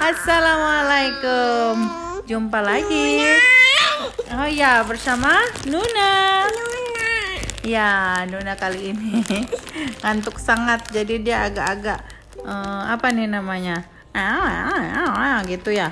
Assalamualaikum. Jumpa lagi. Oh ya, bersama Nuna. Ya, Nuna kali ini ngantuk sangat, jadi dia agak-agak apa nih namanya? Gitu ya.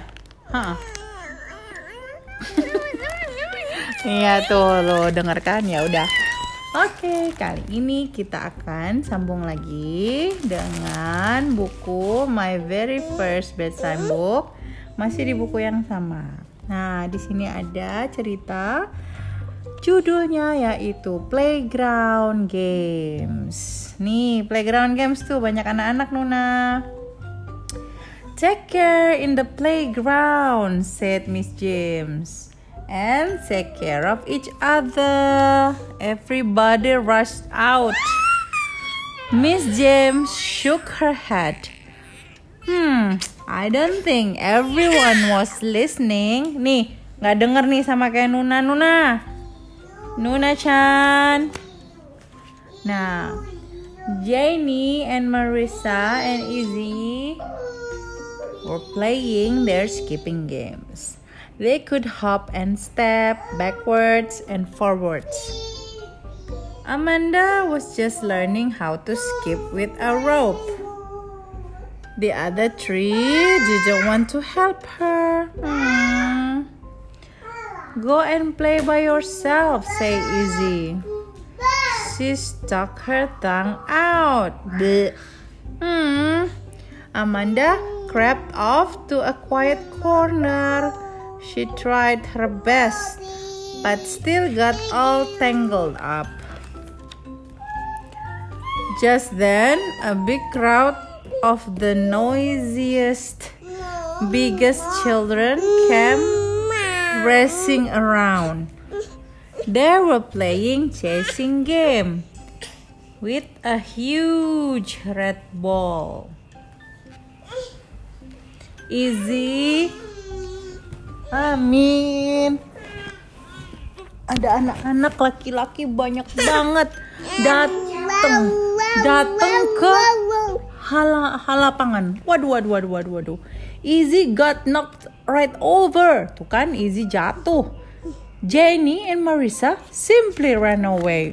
Iya tuh, lo dengarkan ya udah. Oke, kali ini kita akan sambung lagi dengan buku My Very First Bedtime Book. Masih di buku yang sama. Nah, di sini ada cerita judulnya yaitu Playground Games. Nih, Playground Games tuh banyak anak-anak, Nuna. Take care in the playground, said Miss James. And take care of each other. Everybody rushed out. Miss James shook her head. I don't think everyone was listening. Nih, nggak denger nih sama kayak Nuna-chan. Nah, Janie and Marissa and Izzy were playing their skipping games. They could hop and step backwards and forwards. Amanda was just learning how to skip with a rope. The other three didn't want to help her. Go and play by yourself, said Izzy. She stuck her tongue out. Amanda crept off to a quiet corner. She tried her best, but still got all tangled up. Just then, a big crowd of the noisiest, biggest children came racing around. They were playing chasing game with a huge red ball. Izzy, Amin. Ada anak-anak laki-laki banyak banget datang ke halapangan. Waduh. Izzy got knocked right over. Tuh kan, Izzy jatuh. Janie and Marissa simply ran away.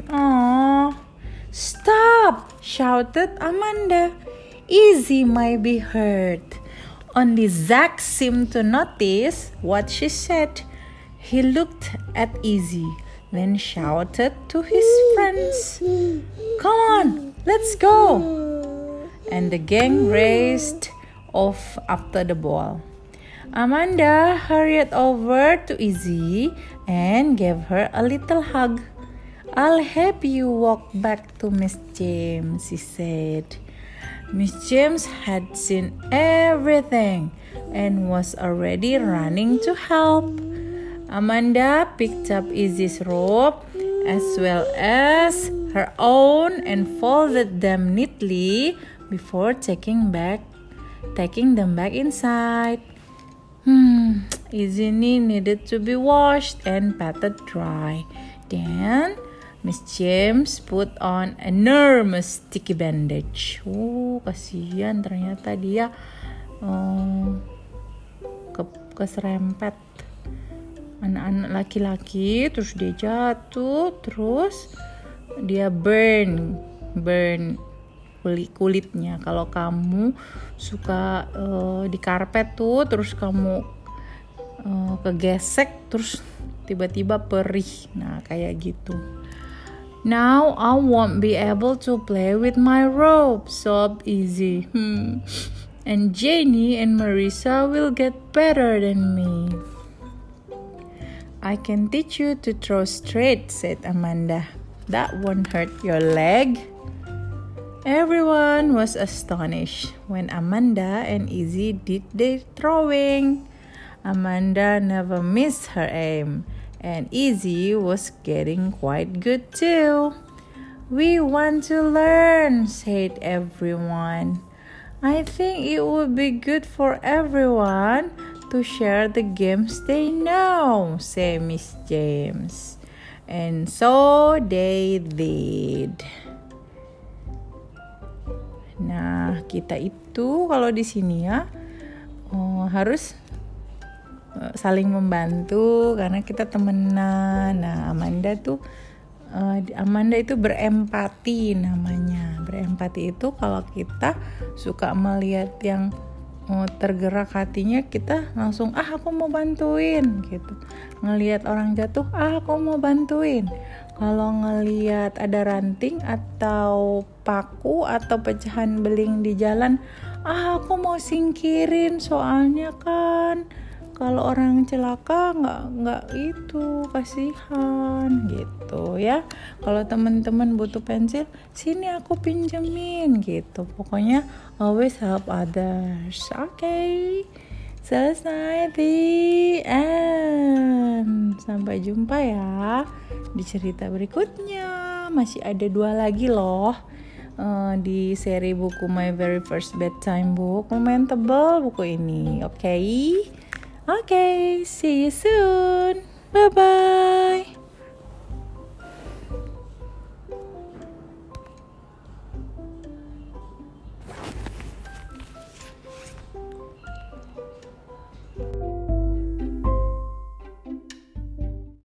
Stop, shouted Amanda. Izzy might be hurt. Only Zach seemed to notice what she said. He looked at Izzy, then shouted to his friends, "Come on, let's go!" And the gang raced off after the ball. Amanda hurried over to Izzy and gave her a little hug. "I'll help you walk back to Miss James," she said. Miss James had seen everything and was already running to help. Amanda picked up Izzy's rope as well as her own and folded them neatly before taking them back inside. Izzy needed to be washed and patted dry. Then Miss James put on an enormous sticky bandage. Kasihan ternyata dia keserempet. Anak-anak laki-laki, terus dia jatuh, terus dia burn kulitnya. Kalau kamu suka di karpet tuh, terus kamu kegesek, terus tiba-tiba perih. Nah, kayak gitu. Now I won't be able to play with my rope, sobbed Izzy. And Janie and Marissa will get better than me. I can teach you to throw straight, said Amanda. That won't hurt your leg. Everyone was astonished when Amanda and Izzy did their throwing. Amanda never missed her aim, and Izzy was getting quite good too. We want to learn, said everyone. I think it would be good for everyone to share the games they know, said Miss James. And so they did. Nah, kita itu kalau di sini ya harus saling membantu karena kita temenan. Nah, Amanda itu berempati namanya. Berempati itu kalau kita suka melihat yang tergerak hatinya, kita langsung aku mau bantuin gitu. Ngelihat orang jatuh, aku mau bantuin. Kalau ngelihat ada ranting atau paku atau pecahan beling di jalan, aku mau singkirin, soalnya kan kalau orang celaka nggak itu, kasihan gitu ya. Kalau teman-teman butuh pensil, sini aku pinjemin gitu. Pokoknya always help others. Okay, selesai the end. Sampai jumpa ya di cerita berikutnya. Masih ada 2 lagi loh di seri buku My Very First Bedtime Book. Lumayan tebal buku ini. Okay, see you soon. Bye-bye.